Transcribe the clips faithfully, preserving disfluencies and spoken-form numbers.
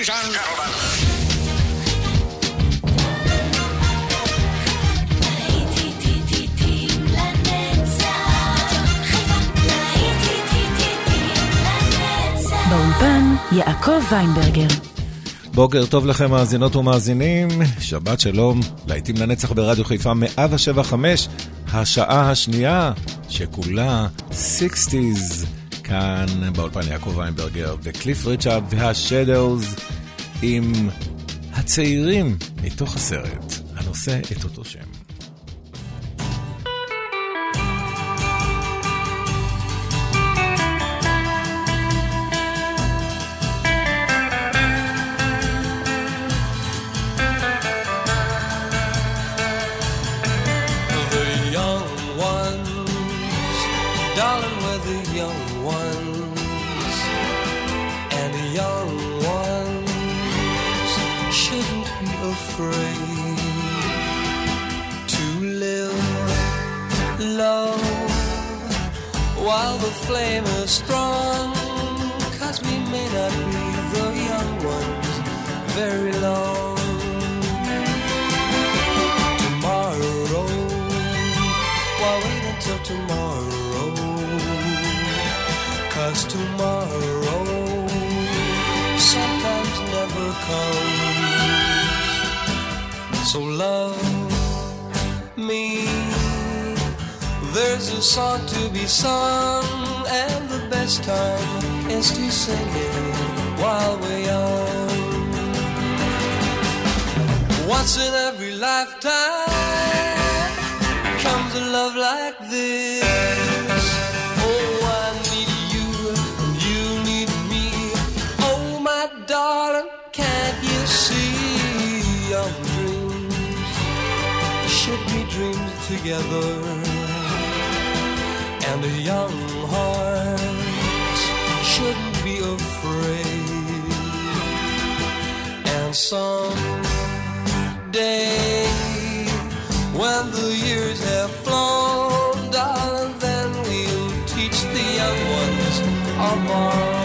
and gentlemen. באולפן יעקב ויינברגר. בוקר טוב לכם מאזינות ומאזינים, שבת שלום, להיטים לנצח ברדיו חיפה מאה שבע חמש, השעה השנייה שכולה שישים, כאן באולפן יעקב ויינברגר וקליף ריצ'ארד והשדאוז עם הצעירים מתוך הסרט הנושא את אותו שם. While the flame is strong, 'cause we may not be the young ones very long. Tomorrow, why wait until tomorrow? 'Cause tomorrow sometimes never comes. So love me. There's a song to be sung, and the best time is to sing it while we're young. Once in every lifetime comes a love like this. Oh, I need you, and you need me. Oh, my darling, can't you see? Young dreams should be dreamed together. And a young heart shouldn't be afraid. And someday, when the years have flown, darling, then we'll teach the young ones of our own.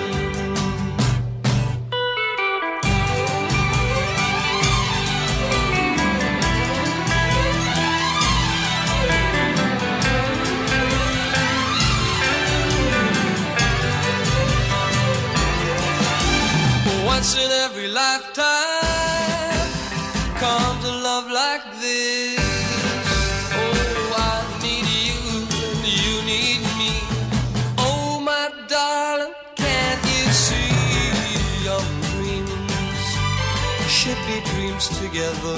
Once in every lifetime comes a love like this. Oh, I need you and you need me. Oh, my darling, can't you see? Young dreams should be dreams together.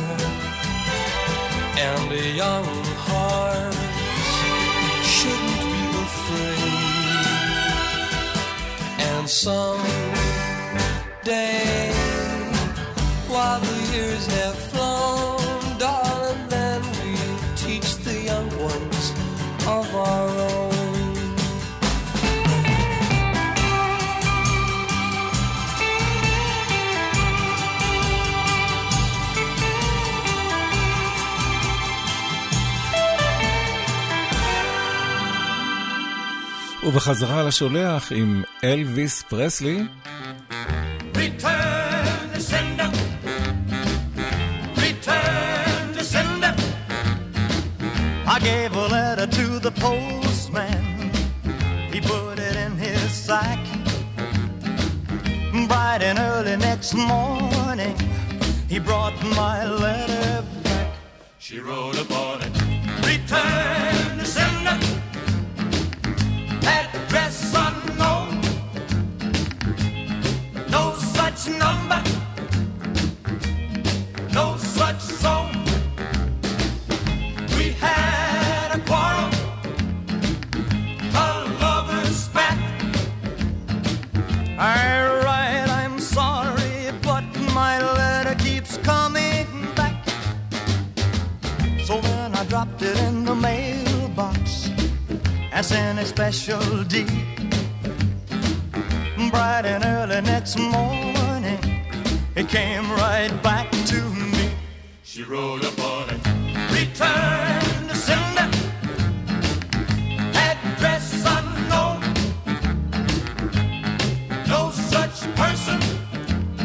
And a young heart shouldn't be afraid. And some day, while the years have flown, darling, then we'll teach the young ones of our own. ובחזרה לשולח עם אלוויס פרסלי. Return to sender. Return to sender. I gave a letter to the postman. He put it in his sack. Bright and early next morning, he brought my letter back. She wrote upon it, return to sender. Address unknown. No such number, no such song. We had a quarrel, a lover's spat. Alright, I'm sorry, but my letter keeps coming back. So then I dropped it in the mailbox and sent a special deed. Bright and early next morning, it came right back to me. She wrote upon it, return to sender. Address unknown. No such person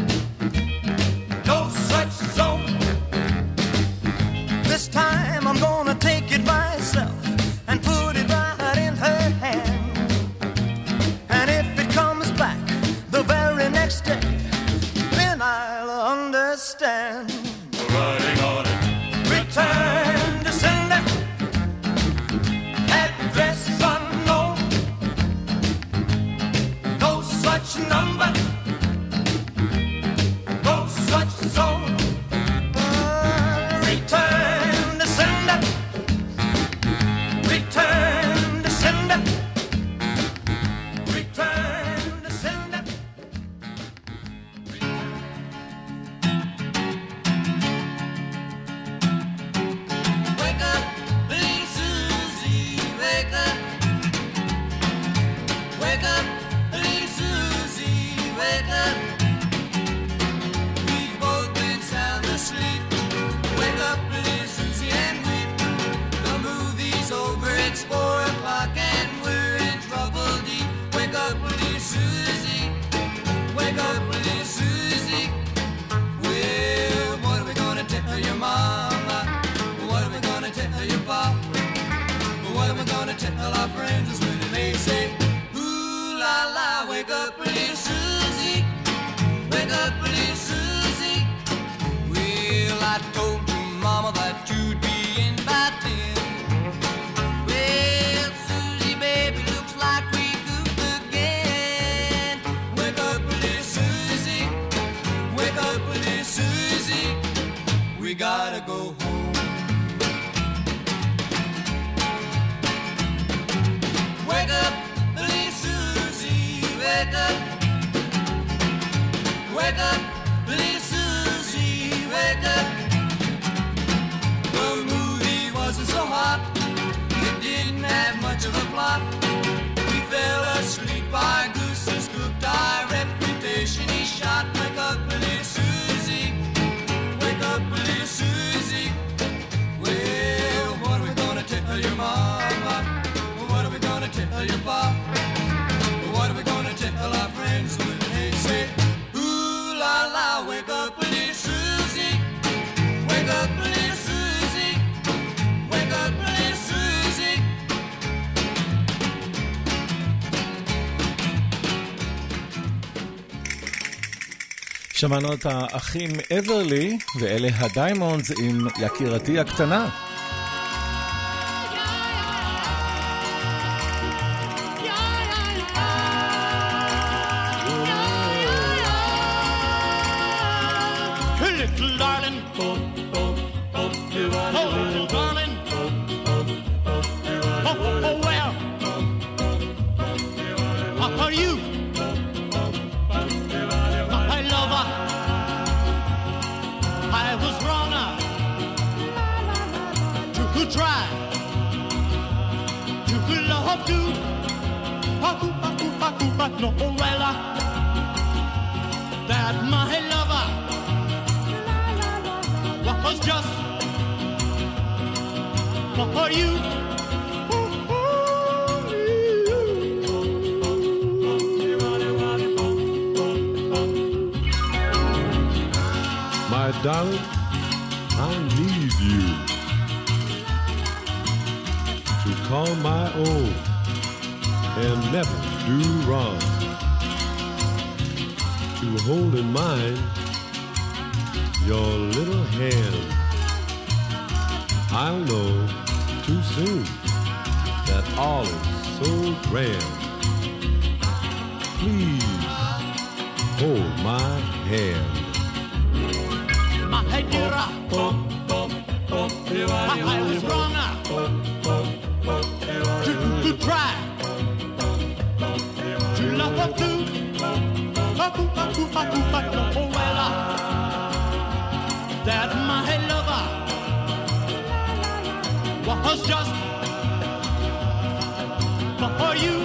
such number, no such zone. Return to sender, return to sender, return to sender. Wake up, little Susie, wake up. Wake up, little Susie, wake up. We've both been sound asleep. Wake up, little Susie, and weep. The movie's over, it's four o'clock and we're in trouble deep. Wake up, little Susie, wake up, little Susie. Well, what are we gonna tell your mama? What are we gonna tell your papa? What are we gonna tell our friends when they say, ooh la la, wake up, little Susie, wake up, little Susie. Well, I told your mama that you'd be in by ten. Well, Susie, baby, looks like we goofed again. Wake up, little Susie, wake up, little Susie. We gotta go home. Wake up, little Susie, wake up. Wake up, little Susie, wake up. The movie wasn't so hot, it didn't have much of a plot. We fell asleep, our gooses cooked, our reputation he shot. Wake up, little Susie, wake up, little Susie. Well, what are we gonna tell your mama? What are we gonna tell your papa? What are we gonna tell our friends when they say, ooh la la, wake up, little Susie, wake up, little Susie, wake up, little Susie. שמענו את האחים אברלי, ואלה הדיימונדס עם יקירתי הקטנה. Little darling, oh, oh, oh, little darling, oh, oh, well, are you my lover? I was wrong to try to love you, but no, well, that my lover was just for you. My darling, I need you to call my own and never do wrong, to hold in mind your little hand. I'll know too soon that all is so grand. Please hold my hand. My dear, oh, oh, oh, I was wrong to, to try to love her too. Oh, well, that my lover was just for you.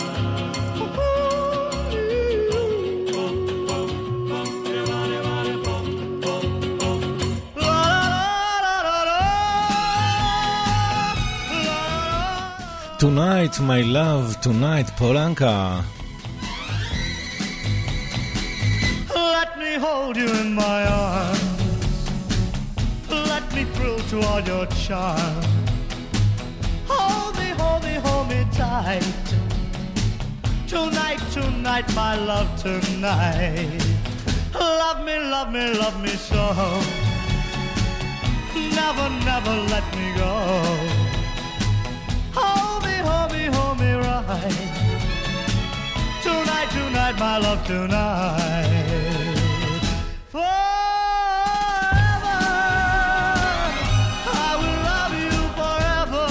Tonight, my love, tonight, Polanka. Let me hold you in my arms. Let me thrill to all your charm. Hold me, hold me, hold me tight. Tonight, tonight, my love, tonight. Love me, love me, love me so. Never, never let me go. Hold me, hold me, hold me right. Tonight, tonight. tonight, my love, tonight. Forever, I will love you forever.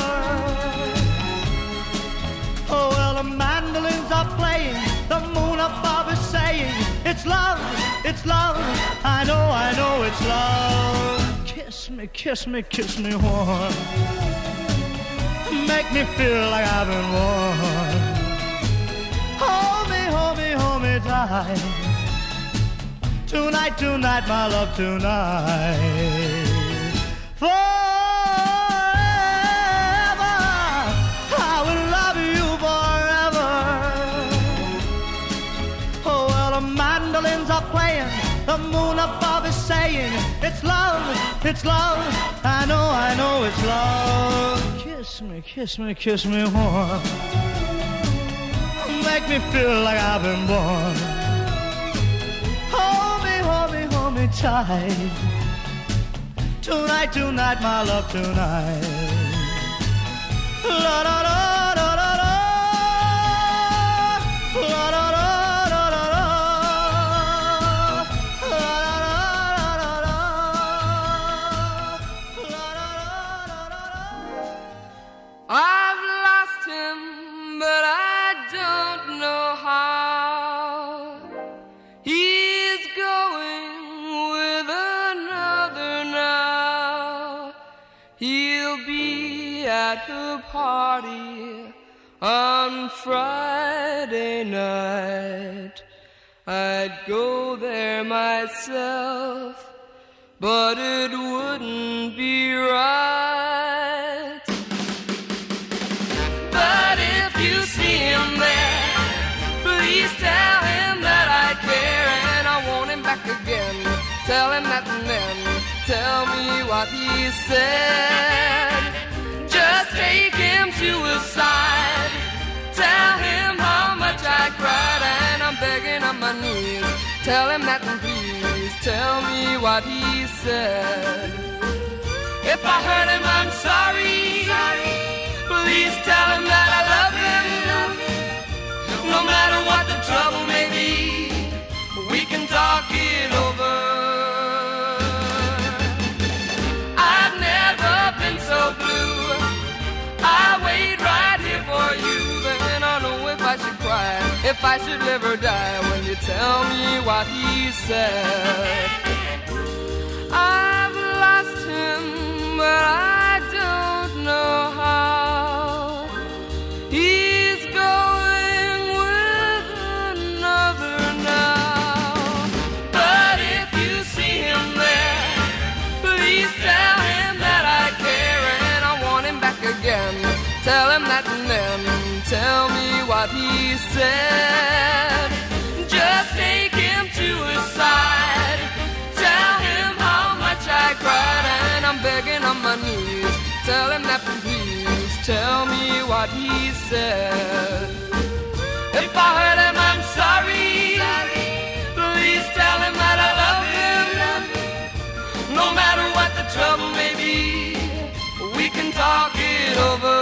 Oh, well, the mandolins are playing, the moon above is saying, it's love, it's love, I know, I know it's love. Kiss me, kiss me, kiss me warm. Make me feel like I've been born. Hold me, hold me, hold me tight. Tonight, tonight, my love, tonight. Forever, I will love you forever. Oh, well, the mandolins are playing, the moon above is saying, it's love, it's love, I know, I know it's love. Kiss me, kiss me, kiss me warm. Make me feel like I've been born. Hold me, hold me, hold me tight. Tonight, tonight, my love, tonight. La da da da da da. La da da da da da. La da da da da. La da da da da. I've lost him, but I don't know how. He's going with another now. He'll be at the party on Friday night. I'd go there myself, but it wouldn't be right. But if you see him there, please tell him that I care and I want him back again. Tell him that and then tell me what he said. Just take him to his side. Tell him how much I cried and I'm begging on my knees. Tell him that and please tell me what he said. If I hurt him, I'm sorry. Please tell him that I love him. No matter what the trouble may be, we can talk it over. I've never been so blue. I wait right here for you. Then I know if I should cry, if I should live or die, when you tell me what he said. I've lost him, but I don't know how. He's going with another now. But if you see him there, please tell him that I care and I want him back again. Tell him that and then tell me what he said. Just take him to his side. Tell him how much I cried and I'm begging on my knees. Tell him that please tell me what he said. If I hurt him, I'm sorry. Please tell him that I love him. No matter what the trouble may be, we can talk it over.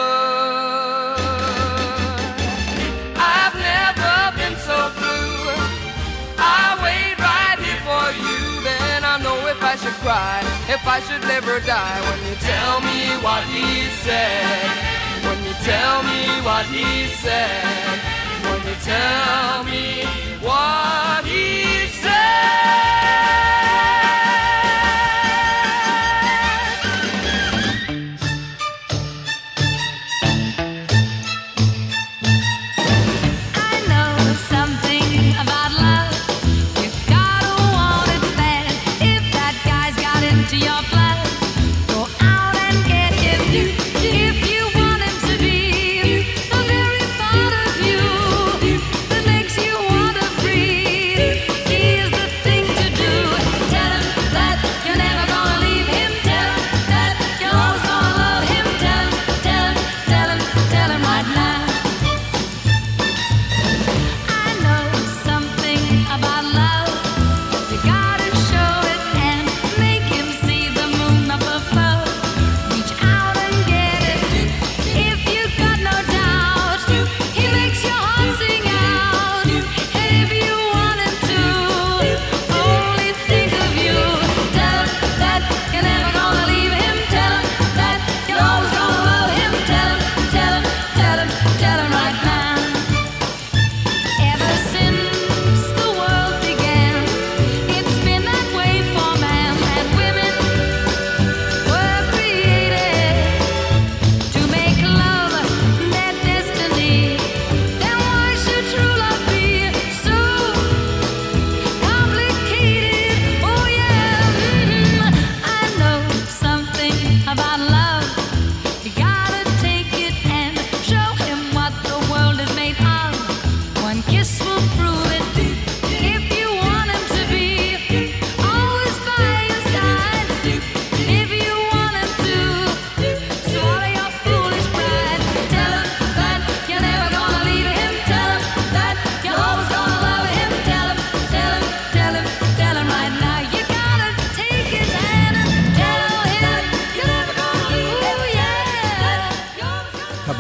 I've never been so blue. I wait right here for you. Then I know if I should cry, if I should live or die, when you tell me what he said. When you tell me what he said. When you tell me what he said. I know something about love. You gotta want it bad. If that guy's got into your blood, go out and get him. If you want him to be the very part of you that makes you want to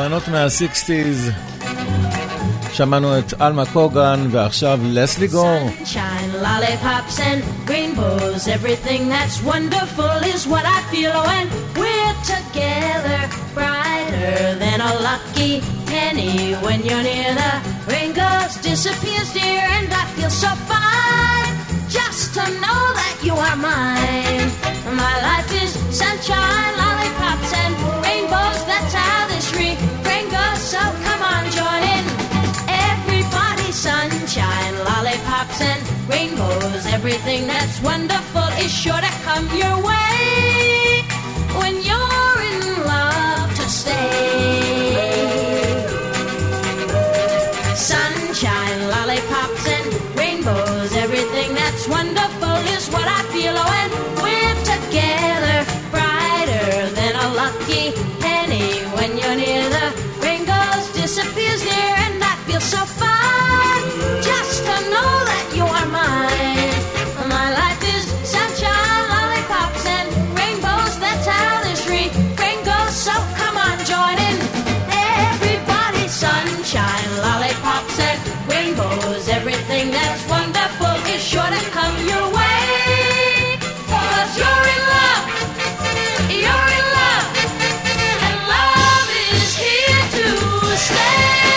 בנות מה-סיקסטיז. שמענו את אלמה קוגן ועכשיו לסלי גור. Sunshine, lollipops and rainbows, everything that's wonderful is what I feel when we're together. Brighter than a lucky penny when you're near, the rain goes, disappears, dear, and I feel so fine just to know that you are mine. My life is sunshine, lollipops and rainbows, that's how this refrain goes, so come on, join in. Sunshine, lollipops and rainbows, everything that's wonderful is sure to come your way when you're in love to stay. Sunshine, lollipops and rainbows, everything that's wonderful is what I feel when we're together. Brighter than a lucky penny when you're near, the rain goes, disappears near, and I feel so fine just to know that you are mine. My life is sunshine, lollipops and rainbows, that's how this refrain goes, so come on, join in. Everybody, sunshine, lollipops and rainbows, everything that's wonderful is sure to come your way. 'Cause you're in love, you're in love, and love is here to stay.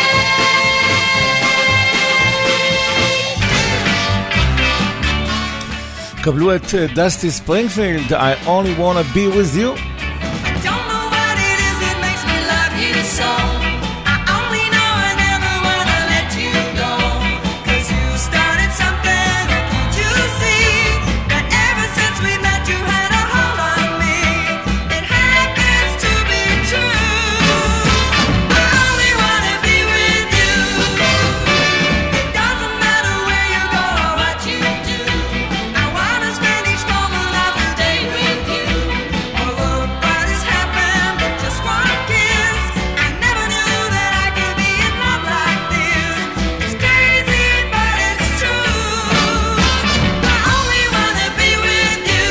קבלו את דסטי ספרינגפילד, I only wanna be with you. Don't know what it is that makes me love you so. I only know I never wanna let you go. 'Cause you started something, can't you see? That ever since we met you had a hold on me. It happens to be true. I only wanna be with you. It doesn't matter where you go or what you do. I wanna spend each moment of the day with you. Oh, look what has happened with just one kiss. I never knew that I could be in love like this. It's crazy, but it's true. I only wanna be with you.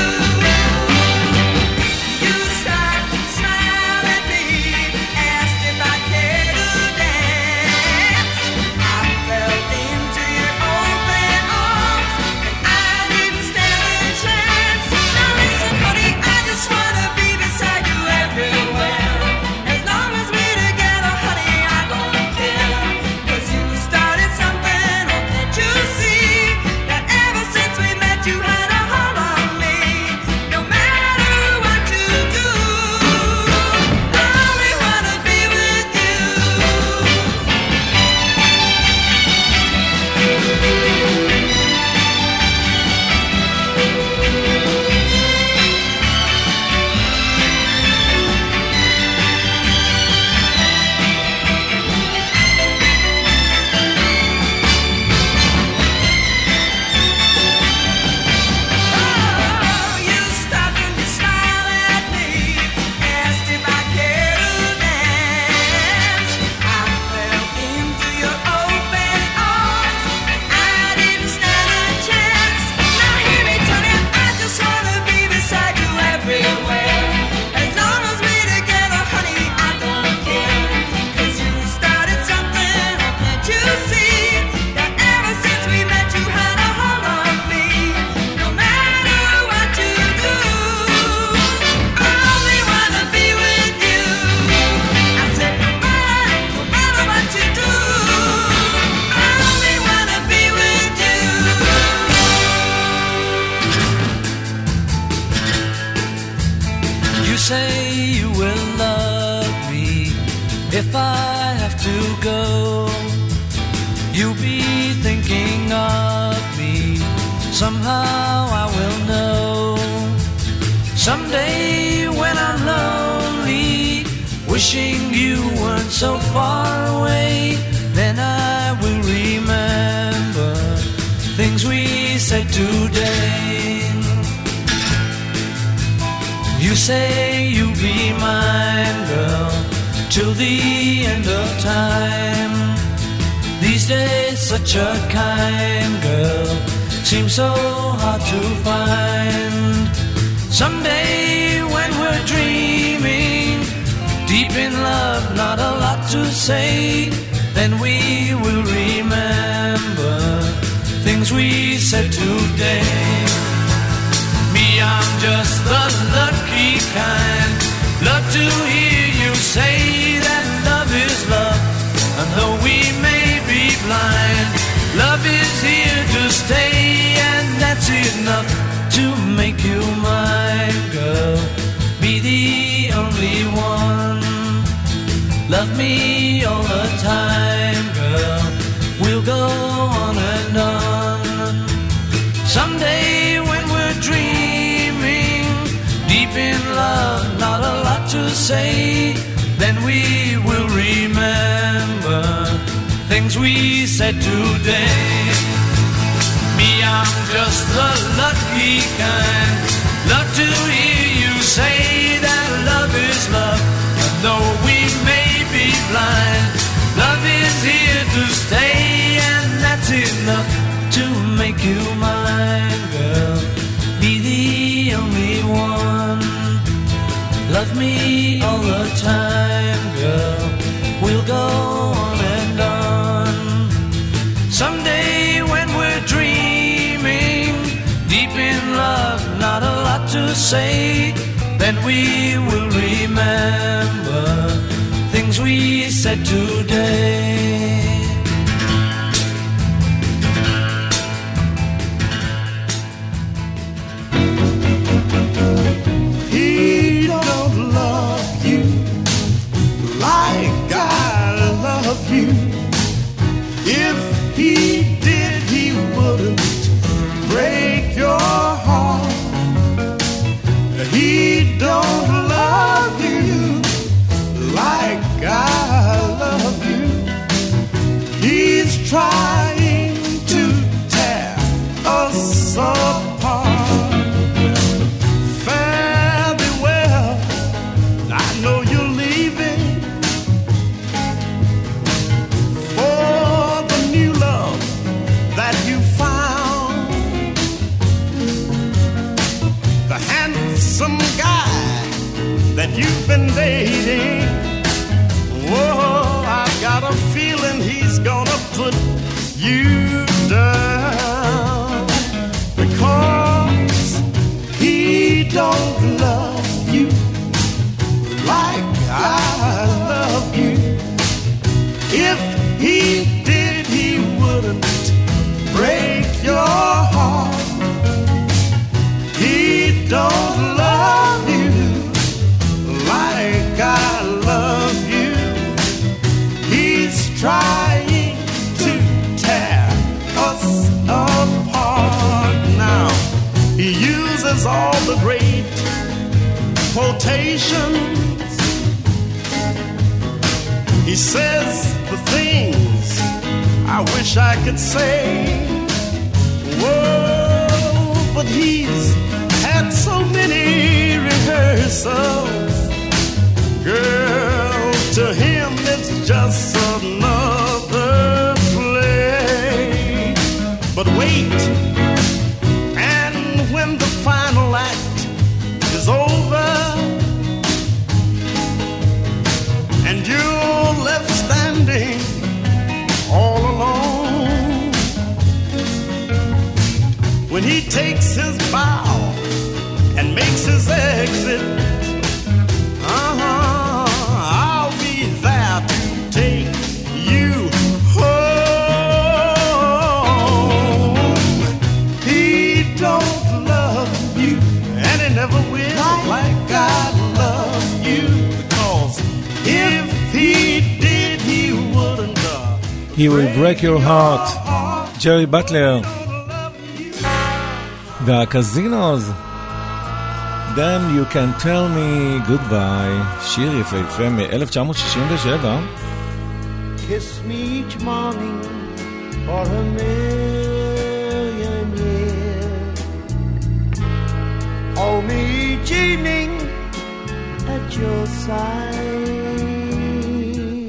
You stopped and smiled at me, asked if I cared to dance. I fell into your open arms, and I didn't stand a chance. Now listen, honey, I just wanna be beside you everywhere. As long as we're together, honey, I don't care. 'Cause you started something, oh, can't you see? That ever since we met you had a hold on me. No matter what you do, I only wanna be with you. Oh, you stopped and you smiled at me, asked if I cared to dance. I fell into your open arms, and I didn't stand a chance. Now hear me tell you, I just wanna be beside you everywhere. As long as we're together, honey, I don't care. 'Cause you started something, oh, can't you see? That ever since we met you had a hold on me. No matter what you do, I only wanna be with you. I said no matter, no matter what you do, I only wanna be with you. You say you will love me if I have to go. You'll be thinking of me. Somehow I will know. Someday when I'm lonely, wishing you weren't so far away, then I will remember things we said today. You say you'll be mine, girl, till the end of time. These days such a kind girl seems so hard to find. Someday when we're dreaming, deep in love, not a lot say, then we will remember things we said today. Me, I'm just the lucky kind. Love to hear you say that love is love. And though we may be blind, love is here to stay, and that's enough to make you mine, girl. Be the only one. Love me all the time, girl. We'll go on and on. Someday when we're dreaming, deep in love, not a lot to say, then we will remember things we said today. Me, I'm just the lucky kind. Love to hear you say that love is love. And though we may be blind, love is here to stay, and that's enough to make you mine, girl. Be the only one. Love me all the time, girl. We'll go on and on. Someday when we're dreaming, deep in love, not a lot to say, then we will remember things we said today. He don't love you like I love you. If he did, he wouldn't break your heart. He don't love you like I love you. He's trying to tear us apart. Fare thee well, I know you're leaving for the new love that you found. The handsome guy that you've been dating. Whoa, I've got a feeling he's gonna put you down, because he don't love you like I love you. If he did, he wouldn't break your heart. He don't love you like I love you. He's trying to tear us apart. Now, he uses all the great quotations. He says the things I wish I could say. Whoa, but he's had so many rehearsals. Girl, to him it's just another play. But wait, and when the final act is over, and you're left standing all alone, when he takes his bow and makes his exit, uh-huh, I'll be there to take you home. He don't love you, and he never will, like I love you, because if he did, he wouldn't love. He will break your heart. ג'רי בטלר. והקזינוז. Then you can tell me goodbye, שיר יפהפה מ-אלף תשע מאות שישים ושבע. Kiss me each morning for a million years. Hold me each evening at your side.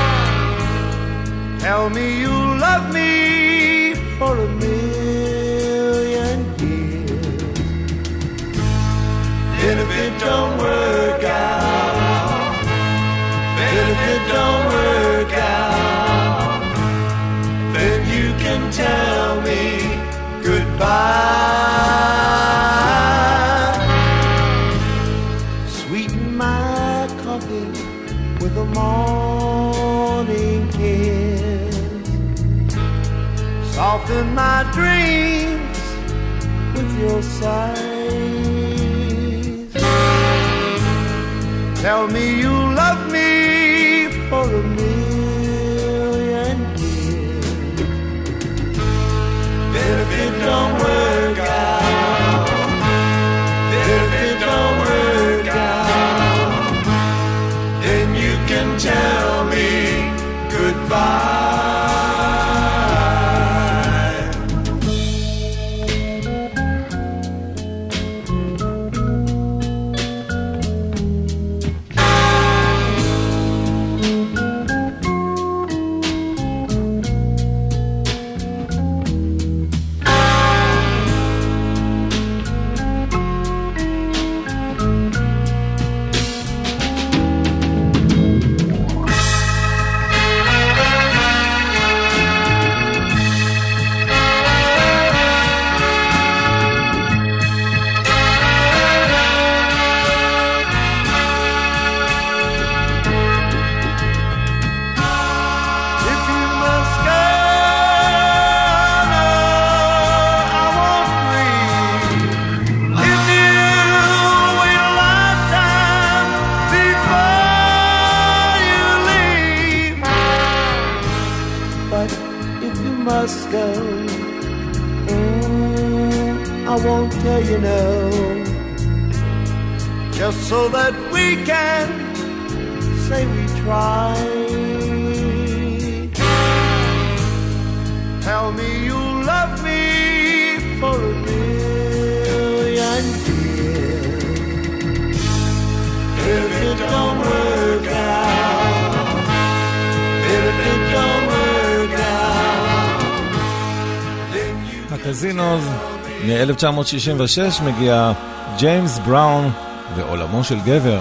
Tell me you love me for a million years. And if it don't work out, and if it don't work skies. Tell me you love me for a million years. Then if it don't work out, then if it don't work out, then you can tell me goodbye. You know, just so that we can say we tried. Tell me you love me for a million years. If it don't work out, if it don't work out, then you הקזינוז מ-אלף תשע מאות שישים ושש מגיע ג'יימס בראון ועולמו של גבר.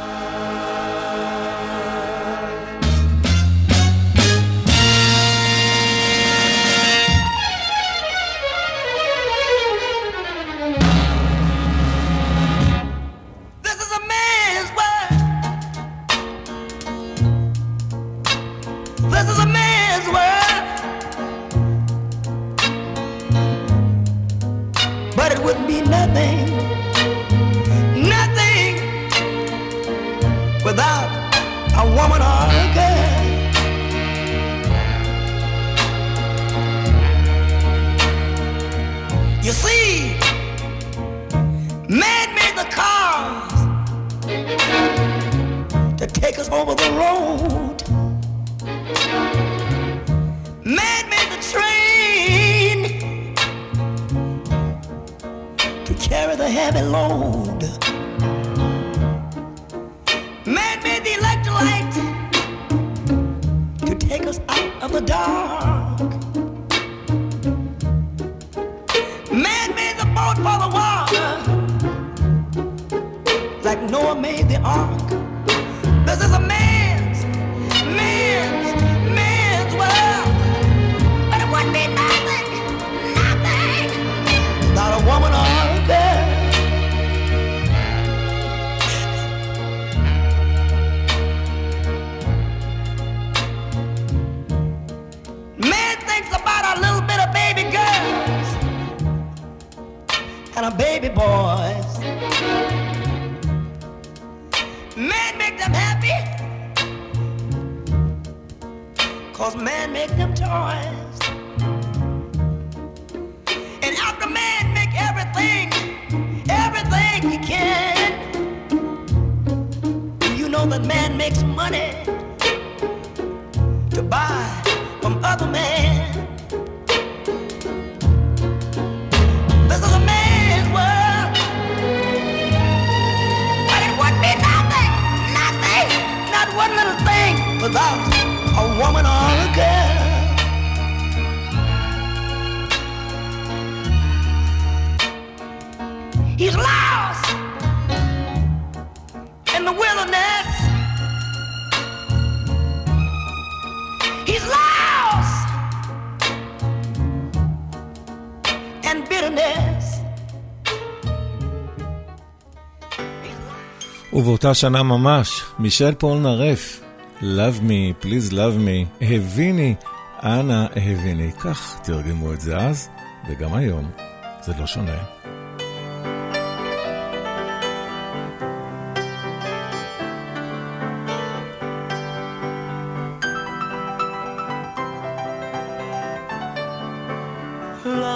ובאותה שנה ממש, מישל פולנרף, Love me, please love me, אהביני, אנא אהביני. כך תרגמו את זה אז, וגם היום. זה לא שונה.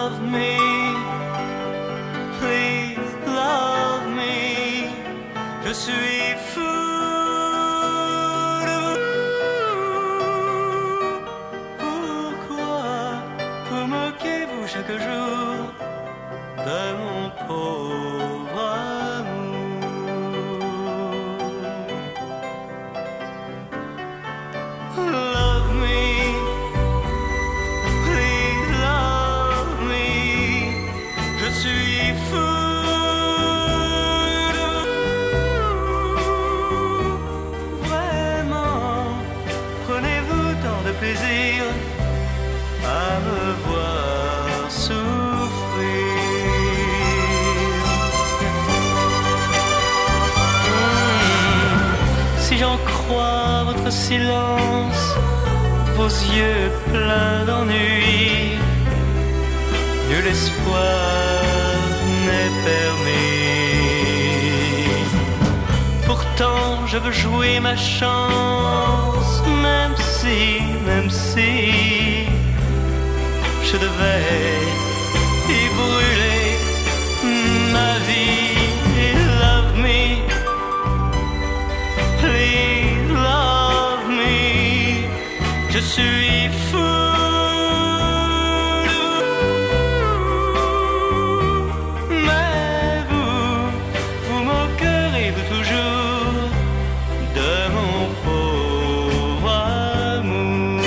love me, please love me. Je suis fou de vous. Pourquoi vous moquez-vous chaque jour de mon pauvre amour? Love me, please love me. Je suis fou de vous. Vraiment, prenez-vous tant de plaisir à me voir souffrir. Si j'en crois votre silence, vos yeux pleins d'ennui, nul espoir n'est permis. Pourtant je veux jouer ma chance, même si, même si je devais y brûler ma vie. Love me, please love me. Je suis fou de vous. Mais vous, vous moquerez-vous toujours de mon pauvre amour?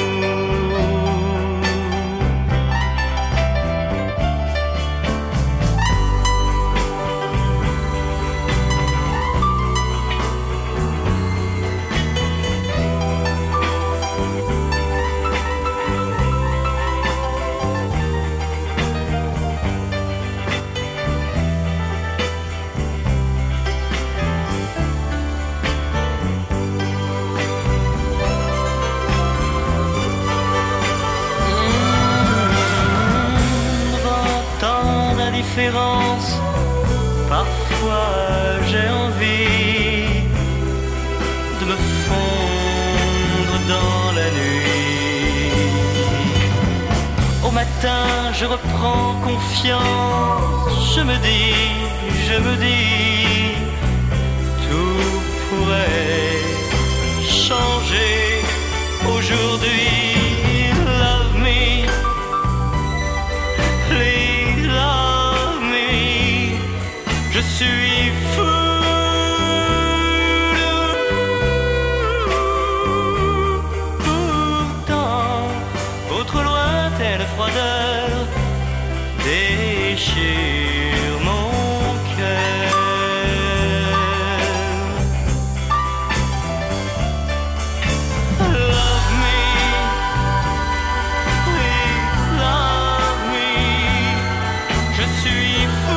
Parfois j'ai envie de me fondre dans la nuit. Au matin je reprends confiance, je me dis, je me dis, tout pourrait changer aujourd'hui. Love me, please love me. Je suis fou de vous. Pourtant, votre lointaine froideur déchire mon cœur. Love me, please love me. Je suis fou.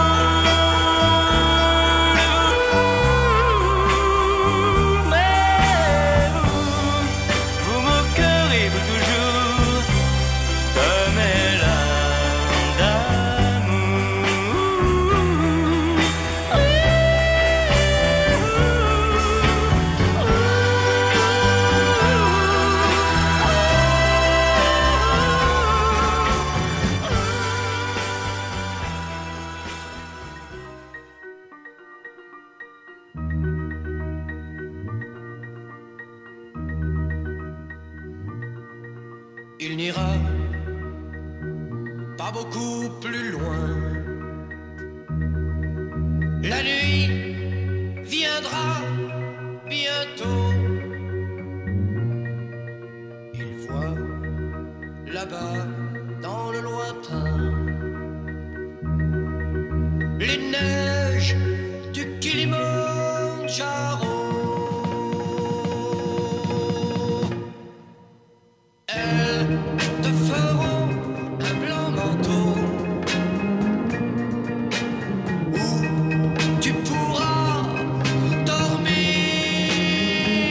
Il n'ira pas beaucoup plus loin. La nuit viendra bientôt. Il voit là-bas dans le lointain les neiges du Kilimandjaro. Elles te feront un blanc manteau où tu pourras dormir.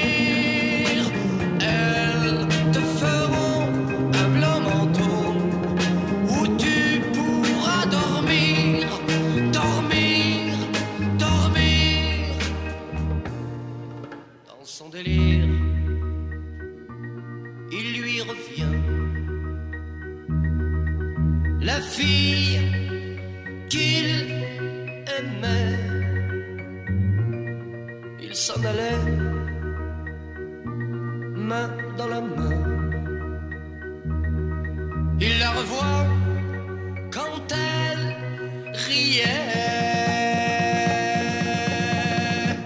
riait.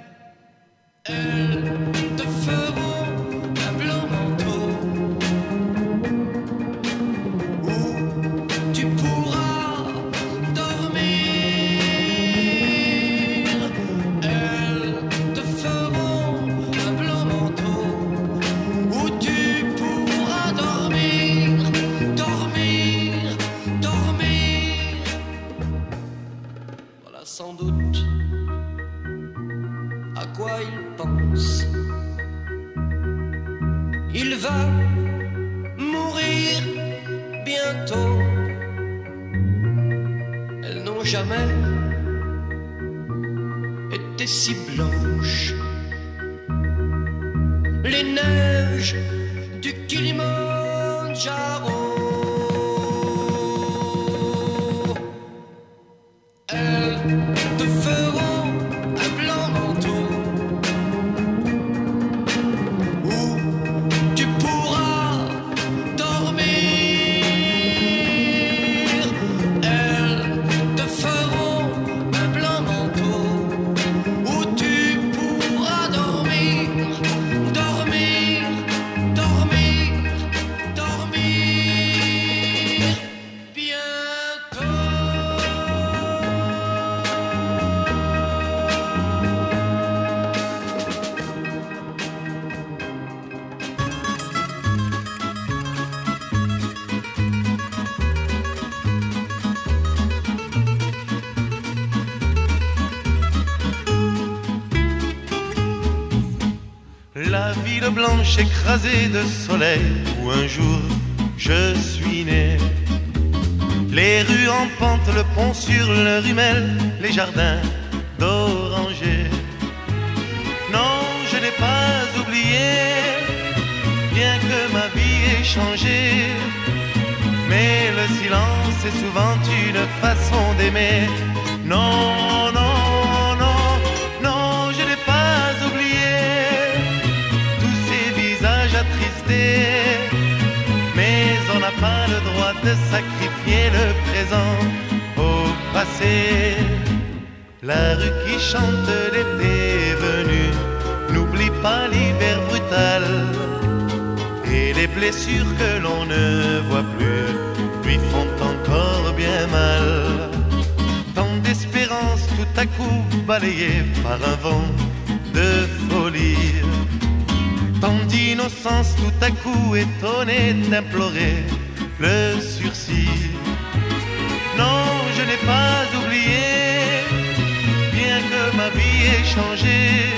Elles te feront un blanc manteau où tu pourras dormir. Elles te feront un blanc manteau où tu pourras dormir, dormir, dormir. Voilà sans doute à quoi il pense. Il va mourir bientôt. Elles n'ont jamais été si blanches. Les neiges du Kilimandjaro. Elles te feront un blanc manteau où tu pourras dormir. Elles te feront un blanc manteau où tu pourras dormir, dormir, dormir, dormir bientôt. La ville blanche écrasée de soleil où un jour je suis né. Les rues en pente, le pont sur le rumel, les jardins d'orangers. Non, je n'ai pas oublié, bien que ma vie ait changé. Mais le silence est souvent une façon d'aimer. Non, non, non, non, je n'ai pas oublié tous ces visages attristés. Mais on n'a pas le droit de sacrifier le présent au passé. La rue qui chante l'été est venue, n'oublie pas l'hiver brutal. Et les blessures que l'on ne voit plus lui font encore bien mal. Tant d'espérance tout à coup balayée par un vent de folie. Tant d'innocence tout à coup étonnée d'implorer le sursis. Non, je n'ai pas oublié, bien que ma vie ait changé.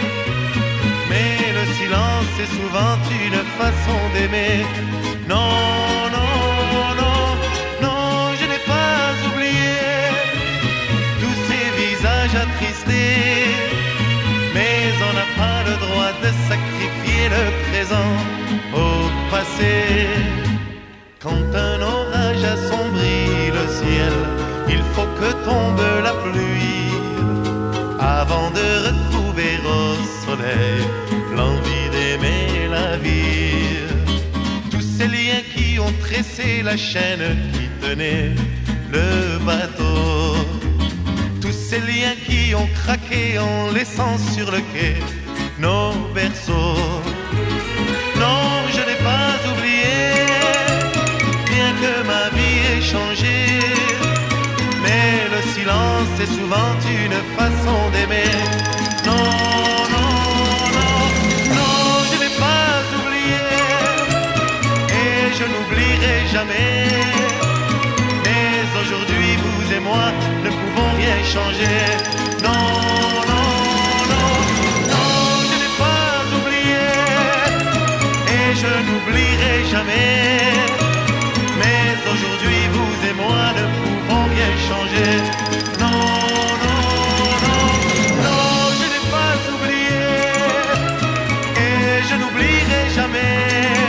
Mais le silence est souvent une façon d'aimer. Non, non, non, non, je n'ai pas oublié tous ces visages attristés. Mais on n'a pas le droit de sacrifier le présent au passé. Quand un orage assombrit le ciel, il faut que tombe la pluie avant de retrouver au soleil l'envie d'aimer la vie. Tous ces liens qui ont tressé la chaîne qui tenait le bateau, tous ces liens qui ont craqué en laissant sur le quai nos berceaux. Non, je n'ai pas oublié, bien que ma vie ait changé. Mais le silence est souvent une façon d'aimer. Non, non, non, non, je n'ai pas oublié et je n'oublierai jamais. Mais aujourd'hui, vous et moi ne pouvons rien changer. Non, non, non, non, je n'ai pas oublié et je n'oublierai jamais. Mais aujourd'hui, vous et moi ne pouvons rien changer. Non, non, non, non, je n'ai pas oublié et je n'oublierai jamais.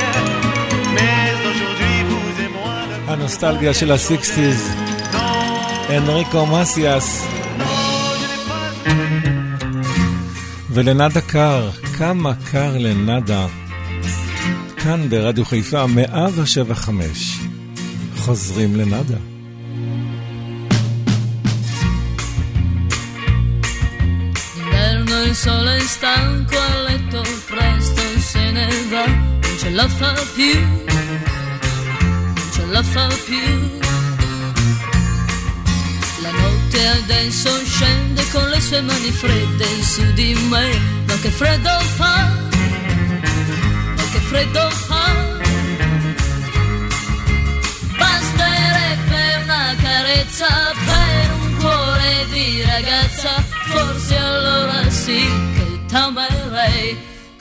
Mais aujourd'hui, vous et moi ne... הנוסטלגיה של ה-סיקסטיז, אנריקו מסיאס ולנדה קר, כמה קר לנדה, כאן ברדיו חיפה מאה ושבע חמש, חוזרים לנדה. sole è stanco a letto presto se ne va, non ce la fa più, non ce la fa più. La notte adesso scende con le sue mani fredde su di me, ma che freddo fa, ma che freddo fa. Basterebbe una carezza per un cuore di ragazza, forse allora sì che t'amerei.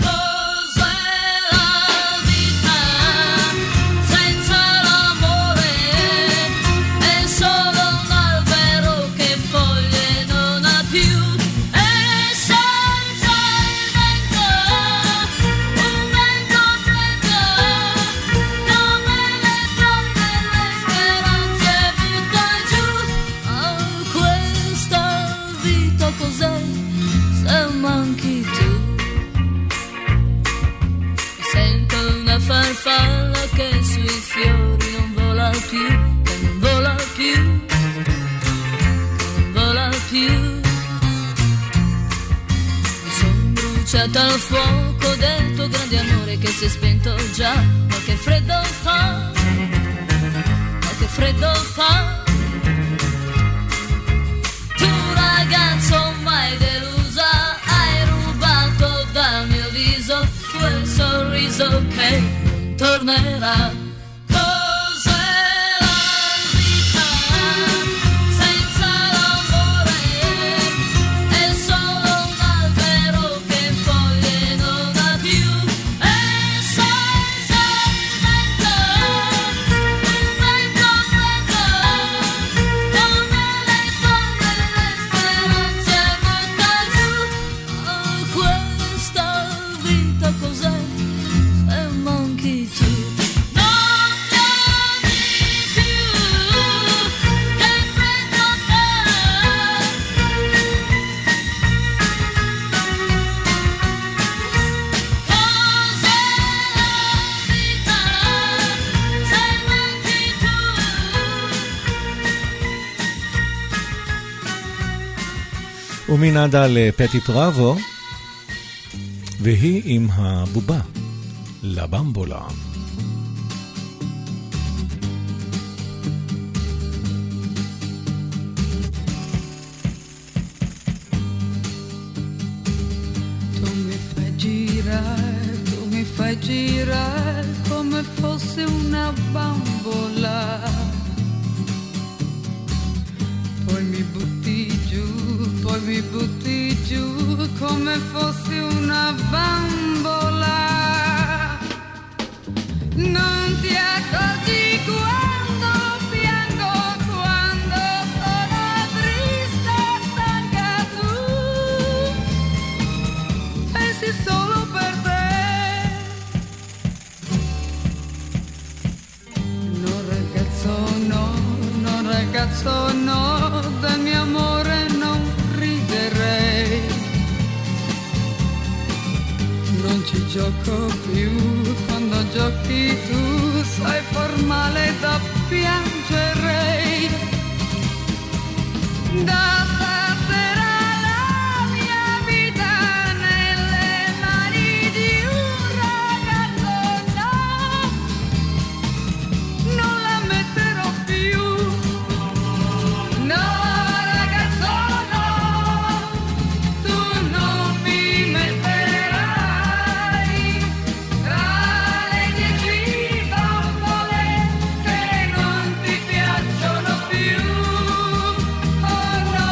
Farfalla che sui fiori non vola più, che non vola più, che non vola più. Mi son bruciata al fuoco del tuo grande amore che si è spento già, ma che freddo fa, ma che freddo fa. Tu ragazzo mai delusa, hai rubato dal mio viso quel sorriso che non tornerà. Cos'è la vita senza l'amore? È solo un albero che foglie non ha più, e senza il vento, un vento freddo, come le foglie le speranze butta giù. Oh, questa vita cos'è? Se manchi tu, non mi ami più, che freddo fa. Cos'è la vita se manchi tu? ומנעדה לפטי פראבו, והיא עם הבובה, לבמבולה. Tu mi fai girare, tu mi fai girare come fosse una bambola. Poi mi butti giù, poi mi butti giù come fosse una bambola. Non ti accorgi quando piango, quando sono triste e stanca, tu pensi solo per te. No ragazzo no, no ragazzo no, del mio amore non riderei. Non ci gioco più, quando giochi tu sai far male da piangerei. Da stasera la mia vita nelle mani di un ragazzo no, non la metterò più. No ragazzo no, tu non mi metterai tra le dieci bambole che non ti piacciono più. Oh no.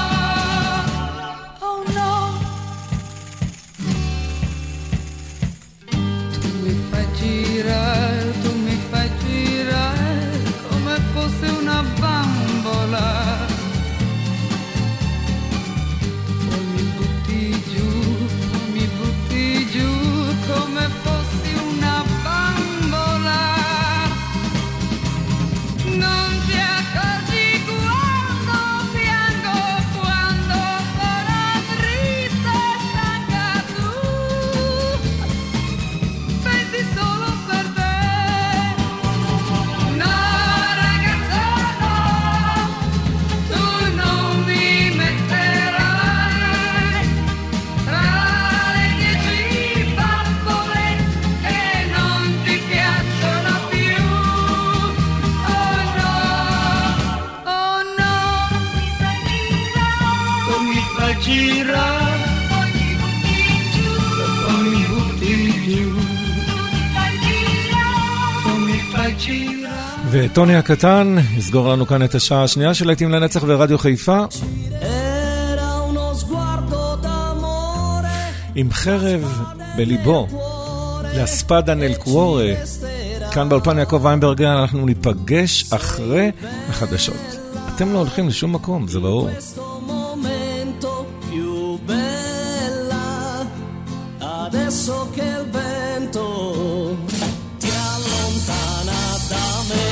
girare, poi mi butti giù, poi mi fai girare. וטוני הקטן יסגור לנו כאן את השעה השנייה של להיטים לנצח ברדיו חיפה עם חרב בליבו לאספדה נל קוורה. כאן באולפן יעקב ויינברגר אנחנו ניפגש אחרי החדשות. אתם לא הולכים לשום מקום, זה ברור. Adesso che il vento ti allontana da me,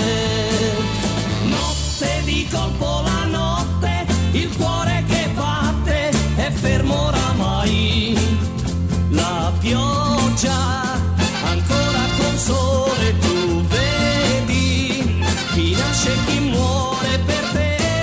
notte di colpo la notte, il cuore che batte è fermo oramai, la pioggia ancora con sole tu vedi, chi nasce e chi muore per te.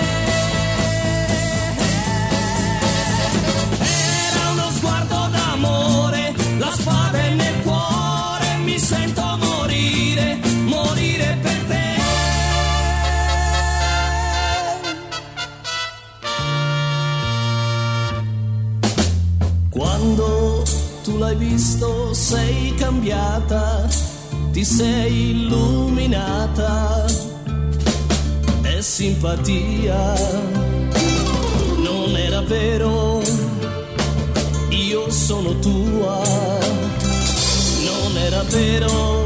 Quando tu l'hai visto sei cambiata, ti sei illuminata, è simpatia, non era vero, io sono tua, non era vero.